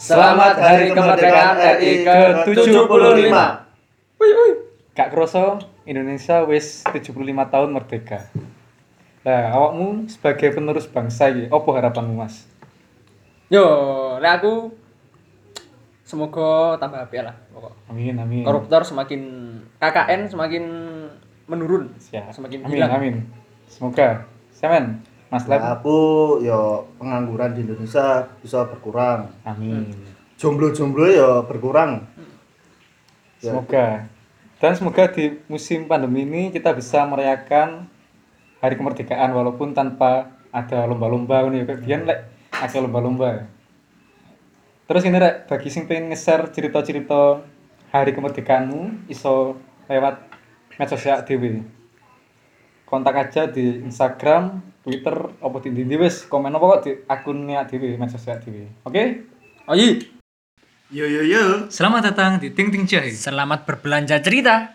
Selamat Hari Kemerdekaan RI ke-75. Gak kroso Indonesia wis 75 tahun merdeka. Nah, awakmu sebagai penerus bangsa iki, apa harapanmu, Mas? Yo, lek aku semoga tambah apik lah pokok. Amin, amin. Koruptor semakin KKN semakin menurun, Siap. semakin Amin, hilang. amin. Semoga. Semen, Mas Lem. Nah, aku yo pengangguran di Indonesia bisa berkurang. Amin. Jomblo-jomblo yo berkurang. Ya. Semoga. Dan semoga di musim pandemi ini kita bisa merayakan Hari Kemerdekaan walaupun tanpa ada lomba-lomba nih, kayak biyen lek ada lomba-lomba. Terus ini rek, bagi sing pengen nge-share cerita-cerita Hari Kemerdekaanmu iso lewat medsos sosial dhewe. Kontak aja di Instagram, Twitter, apa di wis komen apa kok di akunnya dhewe medsos sosial dhewe. Oke? Ayo, Yo. Selamat datang di Ting Ting Jahe. selamat berbelanja cerita.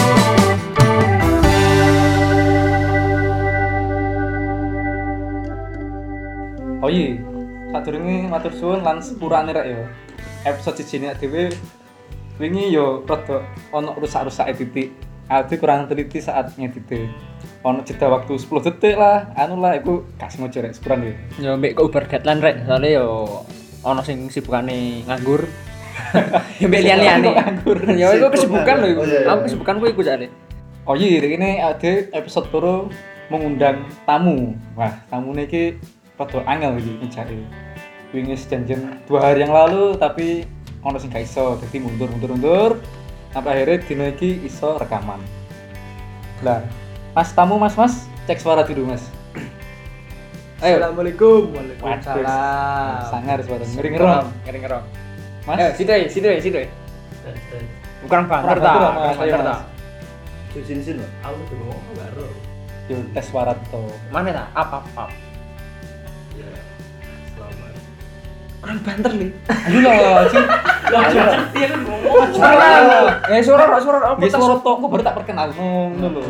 Oh iya, sadurunge matur suwun lan sepurane rek ya. Episode siji nek dhewe wingi yo rada ana rusak-rusake titik. Aku kurang teliti saat ngedite. Ono jeda waktu 10 detik lah, anu lah iku gak sengaja rek sepurane. Yo mbek kok uber deadline rek, soalnya yo ono sing sibukane nganggur. Yo mbek liyan-liyane. Nganggur. Yo iku kesibukan lho iku. Oh, iya. Aku kesibukanku iku jare. Oh iya, ini ada episode baru mengundang tamu. Wah, tamune iki rada angel iki ngejake. Wingi janjian 2 hari yang lalu tapi ono sing gak iso, dadi mundur. Sampai akhirnya dino iki iso rekaman. Lah, Mas tamu Mas, cek suara dulu Mas. Ayo. Assalamualaikum. Waduh, sangar suara ngeri-ngerong. Ngeri-ngerong. Mas, Situ. Bukan banter ta, Mas. bukan banter ta. Sini. Aku tuh ngomong baru. yo tes suara to. Mana ta? Apa? Ya, selamat. Orang banter nih. Ayo lah, Cing. Iya kan ngomong. Suara apa? Nggih suara to, kok baru tak perkenal ngono lho.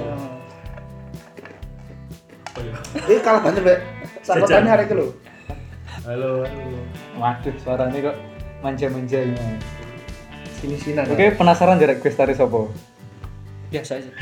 Kalah banget, Mbak. Sampeyan hari itu lho. Halo. Waduh, suaranya kok manja-manja ini. Sini-sinan. Oke, penasaran jarek gue tari sopo? Biasa aja.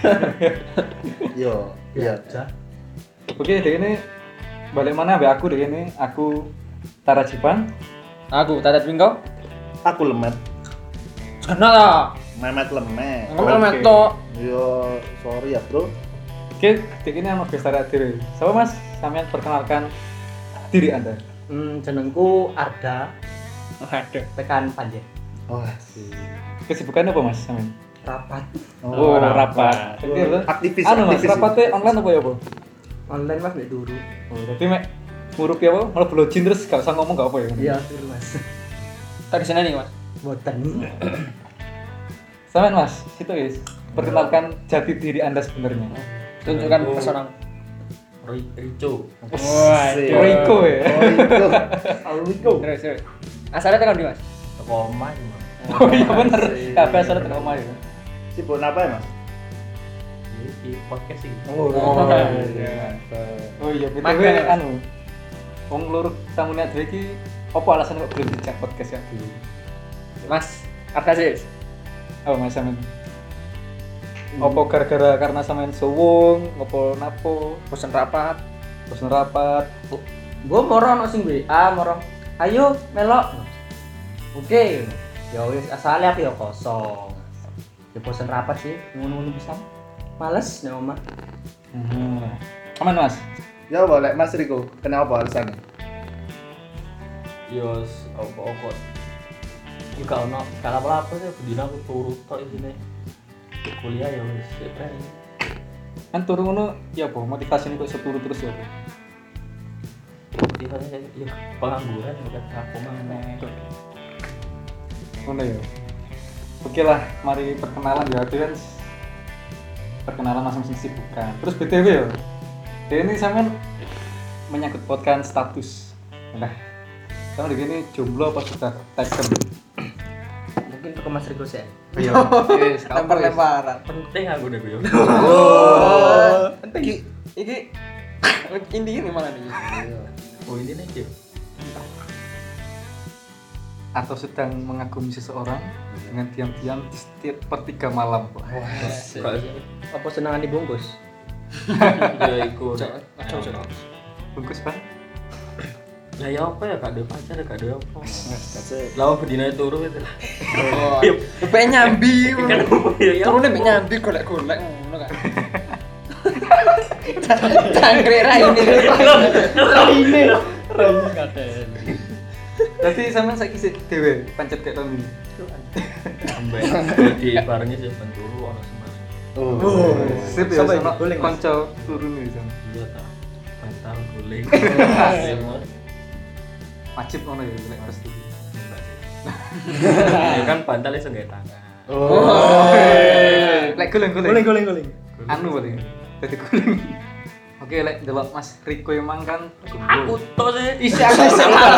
Yo, iya. Oke, deh ini balik mana ambek aku deh ini. Aku Tara Jipang. Aku Tata Twinko. Aku lemet. Kena lah. Memet lemet. Ngomong Oke. meto. Yo, sorry ya, Bro. Oke, deh ini anu gue tari diri. Siapa Mas? Sampean perkenalkan diri Anda. Jenengku Arda, Aduh. tekan Panjen. Wah, Kesibukannya apa Mas? Sampean? Rapat Oh, rapat. Oke, lho. Aktivis. Anu Mas, rapatnya online apa ya, Bu? online mas mek dulu. Oh, berarti mek ngurupi apa? Malah blojin terus gak usah ngomong gak apa ya? Iya, dulu mas. Tak di sana nih, Mas. Boten. Sampean Mas, situ guys. Perkenalkan jati diri Anda sebenarnya. Tunjukkan pesona. Rico. Royko ya. Alwiko. Terus. Asalnya tekan di Mas. Toko omah cuma. Oh iya bener. Kabeh asal tengah omah ya. Sibuk apa ya, Mas? Di podcast sih. Oh, iya. Oh iya, BTW Makan, Mas. anu. Wong lur tamune dhewe iki apa alasan kok belum dijak podcast ya dulu? Mas, Arda sih. Oh, Mas sampean. Apa gara-gara karena sampean suwung, apa napo, Bosen rapat. bosen rapat. Gua moro ono sing WA, moro. Ayo melok. Oke. Ya wis asale aku ya kosong. Ya bosen rapat sih, ngono-ngono pisan. Males nang omah. Aman Mas. Ya boleh, Mas Riko. Kenapa alasannya? Yos, apa-apa. Juga ono kala apa sih bedina aku turu tok isine. Kuliah ya wis prei. Kan turu ngono ya apa motivasine kok iso turu terus ya apa? Motivasinya ya pengangguran bukan aku mah. Ngono ya. Oke lah, mari perkenalan ya. Itu kan perkenalan masing-masing sibukan. Terus BTW ya. Ini sampean menyangkut podcast status. Nah, sampean begini jomblo apa sudah taken? Mungkin ke Mas Riko sih. Iya. Wis, Lempar-lemparan. Penting aku deh gue. Penting. Iki intinya gimana nih? Oh ini nih. atau sedang mengagumi seseorang dengan diam-diam di setiap per 3 malam. Apa senangan dibungkus? Ya iku. Bungkus Bang. Lah ya apa ya gak ada pacar gak ada apa. Lah bedine turu itu lah. Pengen nyambi. Kan ya. Turune mek nyambi golek-golek ngono kan. Tangkrik ra ini. Rene katen. Berarti sampean saiki sik dhewe pancet kayak tahun ini. Ambek di barengnya sih ben turu ono semar. Oh. Sip ya Sampai sama guling, Mas. kanca turun iki Sam. Iya ta. Bantal guling. Wajib ngono ya lek restu. Ya kan bantal iso nggae tangan. Lek guling-guling. Guling. Anu berarti. Dadi guling. Oke, lek delok Mas Riko emang kan Aku to sih. Isi aku sabar.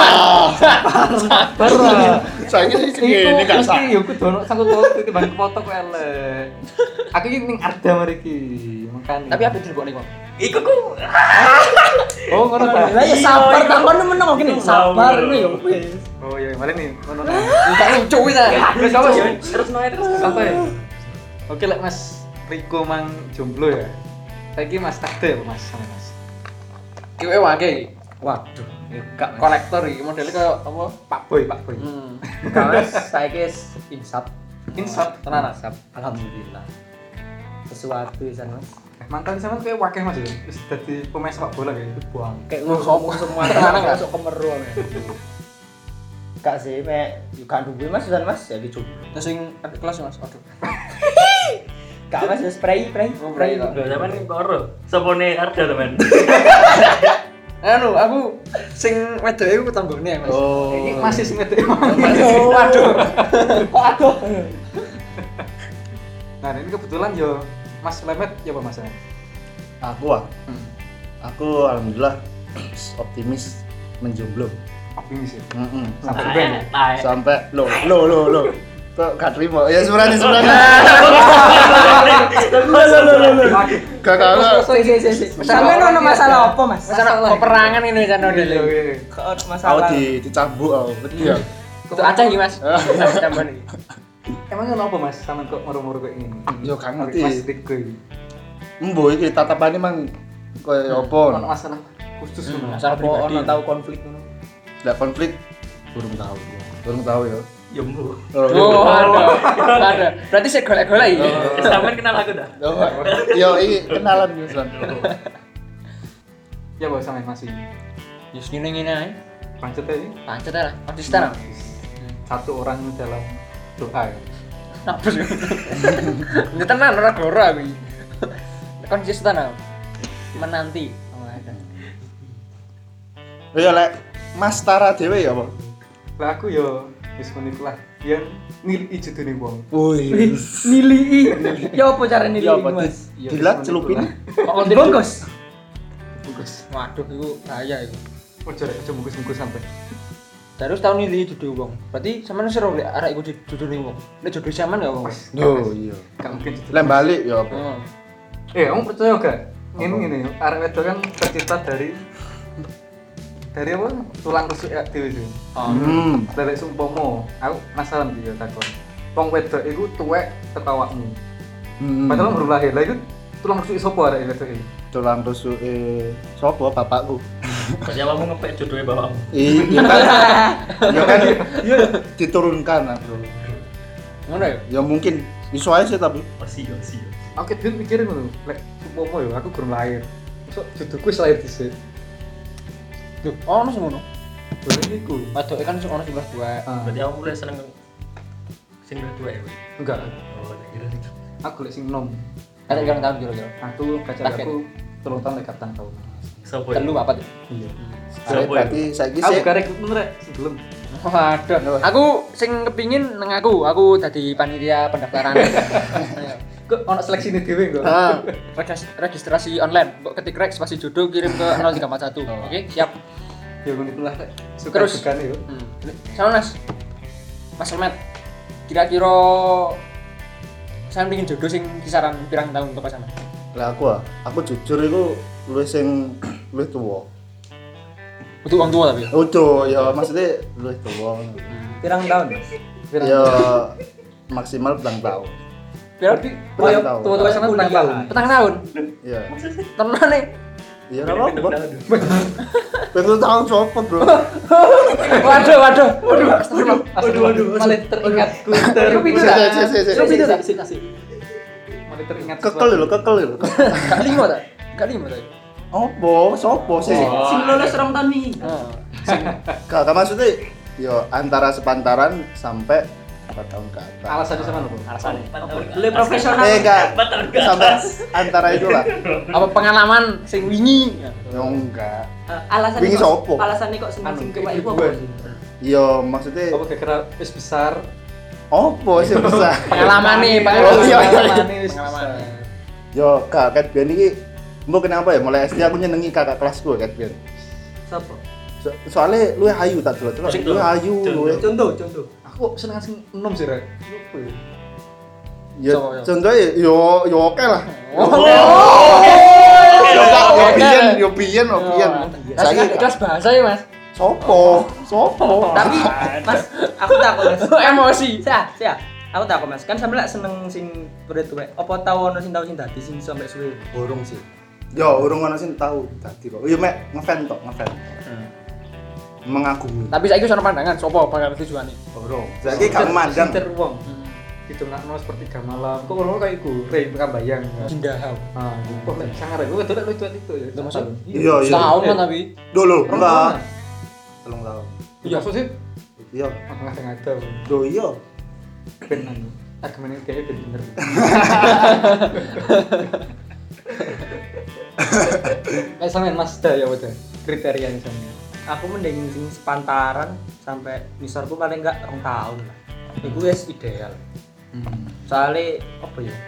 sabar lah. Saiki sih ngene gak sak. Iki yo kudu ono sangkut paut iki bang foto kok elek. Aku iki ning Arda mriki, makane. Tapi apa dilebokne kok? Iku ku. Oh, ngono ta. Lah ya sabar takon meneng kok gini. Sabar ngono ya wis. Oh iya, malah nih ngono ta. Enggak lucu wis ta. Wis apa ya? Terus noe terus. Santai. Oke, lek Mas Riko mang jomblo ya. Saiki Mas takde apa Mas sama Mas? Kiwe wake. Waduh, gak kolektor iki modelnya kayak apa? Pak Boy. Kawas saiki insap. Insap. Tenan insap. Alhamdulillah. Sesuatu isan Mas. Mantan sampean kayak wakil Mas ya. Wis dadi pemain sepak bola kayak itu buang. Kayak ngomong semua tenan gak masuk kemeru men. Gak sih, mek gak duwe Mas isan Mas ya dicoba. Terus sing adik kelas Mas, aduh. Gak Mas ya spray. Lho sampean karo. Sopone Arda teman. Anu, aku sing wedoke iku tanggone Mas. Oh. Ini masih sing ngedek emang. Waduh. Waduh. Nah, ini kebetulan yo Mas Lemet ya apa Mas? Aku alhamdulillah optimis menjomblo. Optimis ya. Sampai Sampai ben. sampai lo. Kok gak terima? Ya sebenarnya. Kakak. Sampe ono masalah apa, Mas? Masalah peperangan ini kan ono dhewe. Kok ono Aku masalah. dicambuk aku. Iya. Itu acah iki, Mas. Tambahan iki. Emangnya kenapa Mas sampean kok moro-moro kayak gini? Yo gak ngerti. Mas Riko iki. Embo iki tatapane mang koyo Ono apa? masalah khusus ngono. Masalah apa ono tau konflik ngono. Lah konflik burung tahu ya. Ya mbu. Oh, ada. Berarti saya golek-golek iki. Sampean kenal aku dah. Yo iki kenalan Mas. Ya Bos sampean masih. Ya ngene ae. Pancet aja. Pancet lah, konsisten. Satu orang dalam doa ya. Apa sih? Ini tenan ora gloro aku iki. Konsisten aku. Menanti. Ya lek Mas Tara dhewe ya apa? Lah aku yo wis menit lah yang nilai judune wong. Wih. Nilii. Ya apa cara nilii, Ya apa Mas? dilat celupin? Kok dibungkus? Bungkus. Waduh, iku bahaya iku. Ojo bungkus-bungkus sampai. Terus tahun ini jodoh wong. Berarti sampean seru lek arek iku jodohne wong. Nek jodoh sampean gak wong. Yo iya. Gak mungkin judul. Lek balik ya apa? Kamu percaya gak? Ini arek wedok kan tercipta dari apa? Tulang rusuk ya dhewe sih. Dari sumpomo, aku penasaran iki takon. Wong wedok iku tuwek ketawakmu. Padahal baru lahir. Lah iku tulang rusuk sapa arek wedok iki? Tulang rusuk sapa bapakku? Berarti awakmu ngepek jodohe bapakmu. Iya kan. Ya kan diturunkan aku. Ngono ya? Ya mungkin iso ae sih tapi Masih. Aku kan mikirin ngono, lek sumpomo yo aku gurung lahir. Masuk jodohku wis lahir dhisik. Duh, ono sing ngono. Boleh iku. Waduke kan sing ono sing kelas 2. Berarti awakmu mulai seneng sing kedua ya. Enggak. Oh, tak kira itu. Aku lek sing nom. Ada yang tahun kira-kira. Aku pacar aku 3 tahun lek katang tahun. Sopo? Telu apa tuh? Iya. berarti saiki Aku sih gak rekrutmen rek sebelum. Waduh. Aku sing kepingin nang aku dadi panitia pendaftaran. Kok ono seleksi ini dhewe kok. Registrasi online. Kok ketik rek spasi jodoh kirim ke 0341. Oke, siap. Ya ngono itulah rek. Suka Terus? dugane yo. Sama Mas. Mas Lemet. Kira-kira saya pengen jodoh sing kisaran pirang tahun untuk sama. lah aku jujur iku luwih sing luwih tuwa Untuk orang tua tapi. Udah, ya maksudnya lu tua. Pirang tahun, Mas? Ya maksimal petang tahun. Berarti Petang tahun. tua-tua sama petang tahun. Petang tahun. Iya. Tenan nih. Iya enggak apa-apa. Petang tahun sopo, Bro? Waduh. Malah teringat Itu pintu dah. Itu pintu dah. Mulai teringat Kekel lho. Gak lima tak? Gak lima tak? Opo? Sopo sih? Sing lulus rong tahun nih. Kakak maksudnya yo antara sepantaran sampai 4 tahun ke atas. alasannya sama lu. Alasannya. Lu profesional. Enggak. Sampai antara itulah. Apa pengalaman sing wingi? Ya enggak. Alasan Wingi sopo? Alasannya kok sing kewak iku apa? Yo maksudnya Apa kira wis besar? opo sih besar. Pengalaman nih, Oh, iya. Wis Pengalaman. besar. Yo kakak Bian ini mbok kenapa ya mulai SD aku nyenengi kakak kelasku Kak Bian. Sopo? Soalnya lu ayu tak dulu. Lu ayu lu. Contoh. Aku seneng sing enom sih, Rek. Apa ya? Ya Sopo, yo? contohnya yo oke lah. Yo biyen. Kelas bahasa ya, Mas. Sopo. Tapi Mas, aku takut Mas. Emosi. Sia. Aku takut Mas. Kan sampe lek seneng sing tuwek. Apa tau ono sing tau sing dadi sing sampe suwe? Burung sih. Yo urung ana sing tahu dadi kok. Yo mek ngefan. Mengagumi. Tapi saiki sono pandangan sopo bakal tujuane. Burung. Saiki gak mandang. Sinter wong. Itu ngakno sepertiga malam. Kok ngono kayak iku, Rek Kambayang. Jindahau. Ah, kok lek sangar aku wedok lu itu ya. Itu maksud? Iya. Setahun kan tapi. Dulu enggak. 3 tahun. Iya, maksud sih Iya. tengah-tengah ada. Do iya. Ben anu. Argumennya kayak ben bener. Kayak sampean Mas Da ya udah kriteria misalnya. Aku mending sing sepantaran sampai misalku paling enggak 2 tahun lah. Iku wis ideal. Soalnya apa ya?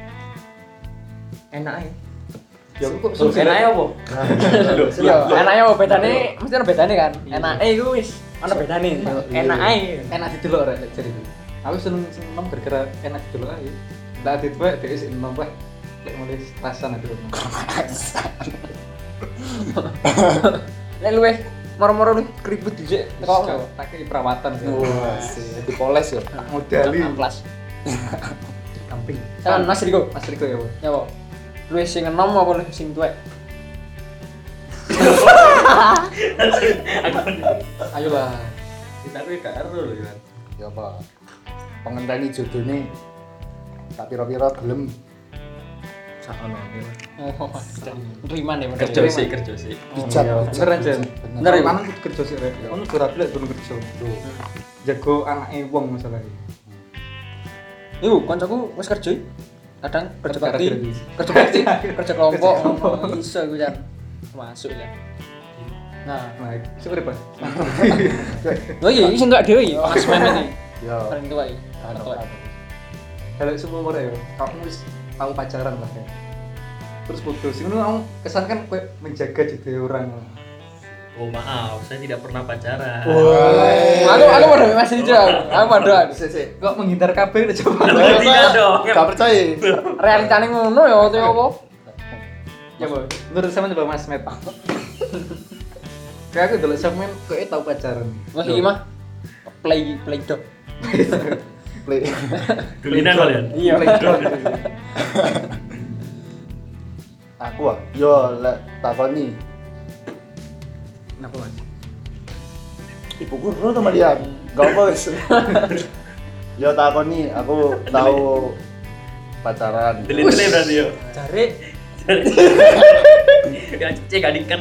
Enak ya. Ya aku kok sulit. Enaknya apa? Iya, enaknya apa bedane? Mesti ono bedane kan. Iya. Enake iku wis ono bedane. Enak aja. Enak didelok rek lek jadi itu. Aku seneng enom gara-gara enak didelok ae. Lah dituwek dhek sing enom wae. Lek mulai rasan aku. Lek luwih moro-moro lu keribut dhisik teko Tak kei perawatan sih. Wah, sih. Dipoles ya. Modali. kelas. Camping. Kan Mas Riko. Mas Riko ya, Bu. Ya, Pak. Luwih sing enom apa luwih sing tuwek? Ayolah. Kita kuwi gak ero lho ya. Ya apa? Pengenteni jodone tak pira-pira gelem. Sakono. Oh, riman ya Kerja sih. Bijak. Beneran Jen. Bener, ya? Lanang kudu kerja sih rek. Ono ora bilek turun kerja. Jago anake wong masalahnya. Iku kancaku wis kerja. Kadang kerja bakti, Kerja kerja kelompok, iso iku jan. Masuk ya. Nah, Nah, syukur Pak. lho iki sing enggak dhewe iki, Mas Mehmet iki. Ya. Paling tua iki. Paling tua. Kalau semua umur ya, kamu wis tahu pacaran lah ya. Terus putus. Ini kamu kesan kan kowe menjaga jadi orang. Oh maaf, saya tidak pernah pacaran. Aku padha Mas Rijo. Aku padha. Sik. Kok menghindar kabeh udah coba. Tidak dong. Gak percaya. Realitane ngono ya opo apa? Ya, Bu. Menurut sama coba Mas Met. Kayak aku dulu sampean kowe tahu pacaran. Mas iki mah play dog. Play. Dulinan kalian. Iya. Aku yo lek takoni Kenapa, Mas? ibu guru sama dia. Gak apa wis. Yo takoni aku tahu pacaran. Tele-tele berarti yo. Jare Ya cek adikan.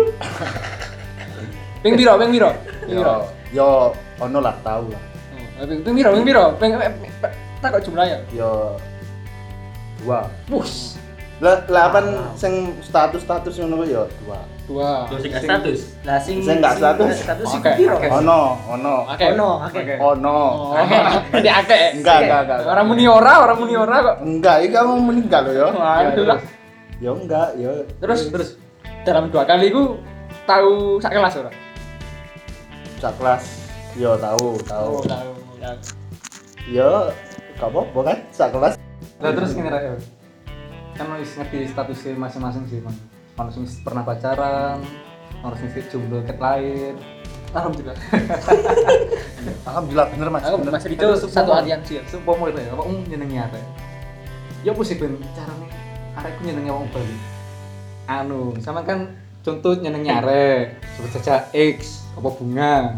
Ping piro? Yo ono lah tahu lah. Ping piro? Ping tak kok jumlahnya. Yo 2. Bus. Lah kan sing status ngono ku yo 2. Dua. Terus sing status. lah sing Sing nggak status. sing Oke. piro? Ono. Akeh. Oke. Ono. Akeh. Ini akeh. Enggak. Orang muni ora kok. Enggak, iki kamu meninggal loh yo. Waduh lah. Yo enggak, yo. Terus dalam 2 kali ku tahu sak kelas ora? Sak kelas. Yo tahu. Tahu. Yo gak apa-apa kan sak kelas. Lah terus gini Rek. Kan wis ngerti statusnya masing-masing sih, Bang. Ono sing pernah pacaran, Ono sing jomblo ket lain. Alhamdulillah. Alhamdulillah bener Mas. Aku Bener. Mas itu satu aliansi ya. Sumpah mulai lho, apa nyenengi arek. Ya apa sih ben carane arekku nyenengi wong Bali. Anu, sama kan contoh nyenengi arek, sebut saja X apa bunga.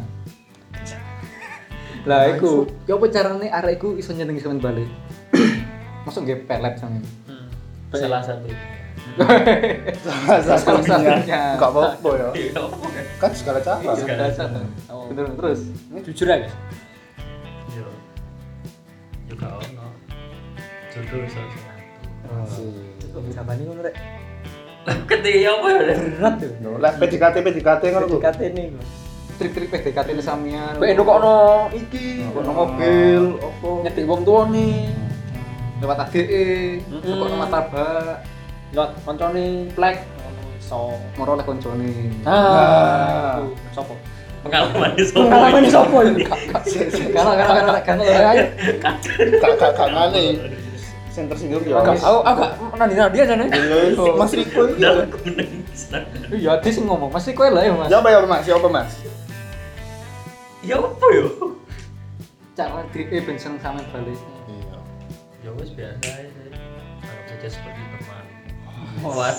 Lah iku, ya apa carane arekku iso nyenengi sampean Bali? Masuk nggih pelet sampean. Salah satu. Salah satunya. Enggak apa-apa ya. Iya, apa kan? Kan segala cara. Segala Dasar. Oh. Bener terus. Ini jujur aja. Yo. Juga ono. Jodoh iso satu. Sampai ini ngono rek. Ketika apa ya? Berat tuh. Lah PDKT ngono ku. PDKT ini. Trik-trik PDKT ini samian. Kowe endok ono iki. Ono mobil, opo Nyetik wong tuane. lewat ADE, kok martabak, Lewat koncone plek ngono iso. moro oleh koncone. Ah. Sopo? Pengalaman itu. Pengalaman sopo iki? Kan Ayo. Kakak ngene. Sing tersinggung ya. Aku gak nandi aja nih. Mas Riko iki. Dalam kuning. iya dia sing ngomong, mesti kowe lah ya Mas. Ya apa Mas? Ya apa Mas? Ya apa yo? Cara DE ben seneng sampean balik. Iya. Ya wes biasa aja sih. Anggap saja seperti teman. Waduh.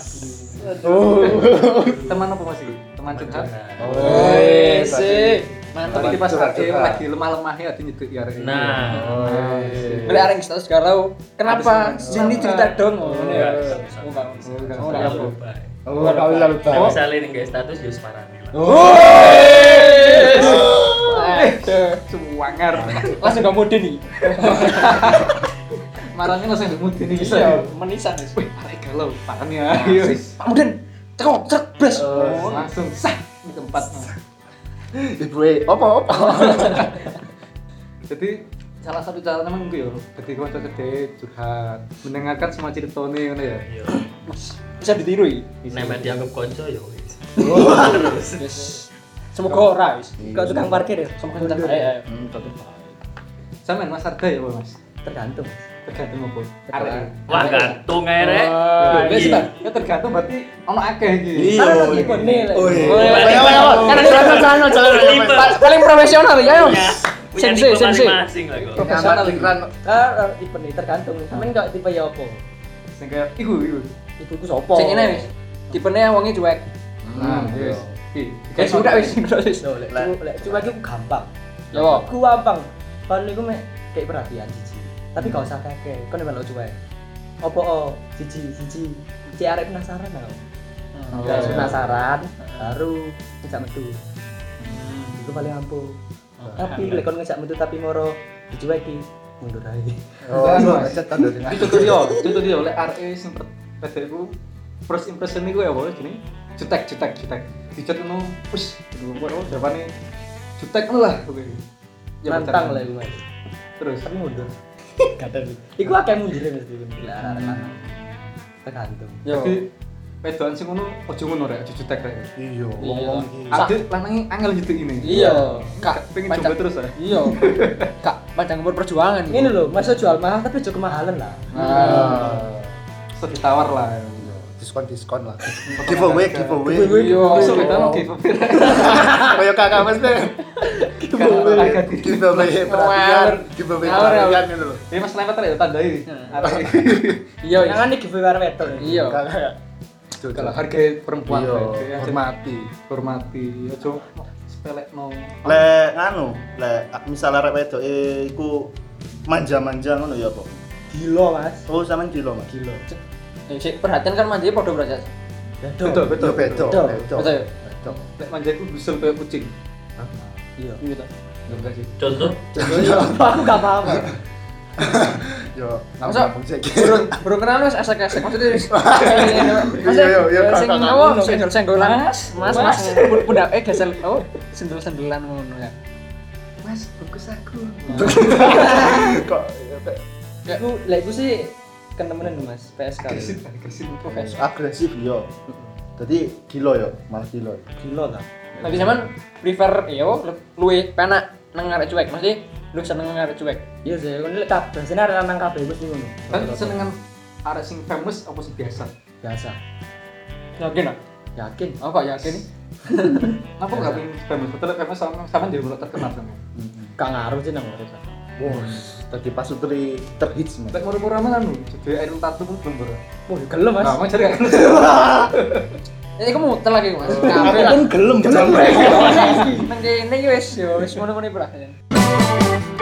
Teman apa Mas iki? Teman curhat. Woi, sih. Mantap iki pas ADE lagi lemah-lemahnya ade nyeduk ya arek. Nah. Beli areng status galau. Kenapa? Ini cerita dong. Ngono ya. Oh, kau lalu Nah, tahu. misalnya ini guys status ya separani lah. Suwangar. Langsung gak mode nih. Marane langsung mudi nih bisa. Iya, menisan wis. Wih, arek galau. Pakane ayo. Pak Muden, cekok, cek, blas. Langsung sah di tempat. Ibu apa? Jadi salah satu cara memang gue yo, ketika kanca gede curhat, mendengarkan semua ceritane ngono ya. Iya. Bisa ditiru iki. Nemet dianggap konco ya wis. Yes. Semoga ora wis. Kau tukang parkir ya. Semoga tukang parkir. Sampean Mas Arda ya, Mas. Tergantung. Tergantung apa? Arek. Wah gantung ae rek. Ya sih, ya tergantung berarti ono akeh iki. Iya. Karena iki kone lek. Oh, iya. Karena ini paling profesional ya. Ayo. Punya Sensei, tipe sensei. masing-masing lah kok. Profesional iki. Tipe nih tergantung. Sampeyan kok tipe ya apa? Sing kayak iku. Ibuku sapa? Sing ngene wis. Tipene wonge cuek. Nah, wis. Iki. Kayak sudah wis wis. Lek cuma iki gampang. Ya apa? Ku gampang. Paling iku mek kayak perhatian siji. Tapi gak usah kakek. Kon melok cuek. Apa siji. Cek arek penasaran aku. Gak penasaran baru ngejak metu. Itu paling ampuh. Tapi lek kon ngejak metu tapi moro dicueki mundur ae. Oh, macet tanda dengan. Itu contoh dia oleh RE sing PDku first impression niku ya apa jenenge? Jutek. Dicat ngono, wis ngono jawabane jutek ngono lah kowe. Nantang lah iku. Terus Tapi mundur. Kadang. Iku akeh mundure mesti arek lanang. Tergantung. jadi pedoan sing ngono ojo ngono rek, ojo jutek rek. Iya, Wong-wong iki. Ade lanange angel jutek ini. Iya. Kak pengen coba terus ya. Iya. Kak, panjang umur perjuangan. Ini lho, masa jual mahal tapi aja kemahalan lah. So ditawar lah. Diskon lah. Giveaway. Iya, so kita mau giveaway. Kayak kakak Mas deh. Giveaway perhatian, giveaway perhatian gitu loh. Ini Mas lempet rek tandai. Iya, jangan nih giveaway arek wedok. Iya. Kakak. Kalau harga perempuan Iya, rek, ya, hormati. ojo sepelekno. Lek nganu, lek misal arek wedok iku manja-manja ngono ya apa? Gila, Mas. Oh, sampean gila, Mas. Gila. Sik perhatian kan manjane padha berarti. Betul. Betul. Betul. Betul. Lek manjaku gusel kayak kucing. Iya. Gitu. Enggak sih. Contoh Contohnya aku gak paham. Yo, Masa burung kenal wis esek-esek maksudnya wis. Iya, Sing kakak. ngono senggol-senggolan. Mas. Pundak gesel. Oh, sendel-sendelan ngono ya. Mas, bungkus aku. Kok Lek iku sih kenemenan Mas, PSK. Agresif Profesor. agresif yo. Jadi gila yo, malah gila. Gila ta. Tapi sampean prefer yo luwe penak nang arek cuek, mesti lu seneng nang arek cuek. Iya sih, kon lek kabeh sing arek lanang kabeh wis ngono. Kan senengan arek sing famous apa sing biasa? Biasa. Yakin ah? Yakin. Oh kok yakin? Kenapa nggak pengen famous? Betul famous sama jadi mulai terkenal sama. Gak ngaruh sih nang urip. Bos, tadi pas Sutri terhits mas. Lek murah-murah mah kan jadi air tatu pun belum berat. Wah, gelem Mas. Nah, mau cari kan. Iku muter lagi Mas. Aku Kabeh lah. pun gelem. Nang kene iki wis ngono-ngono iki, Bro.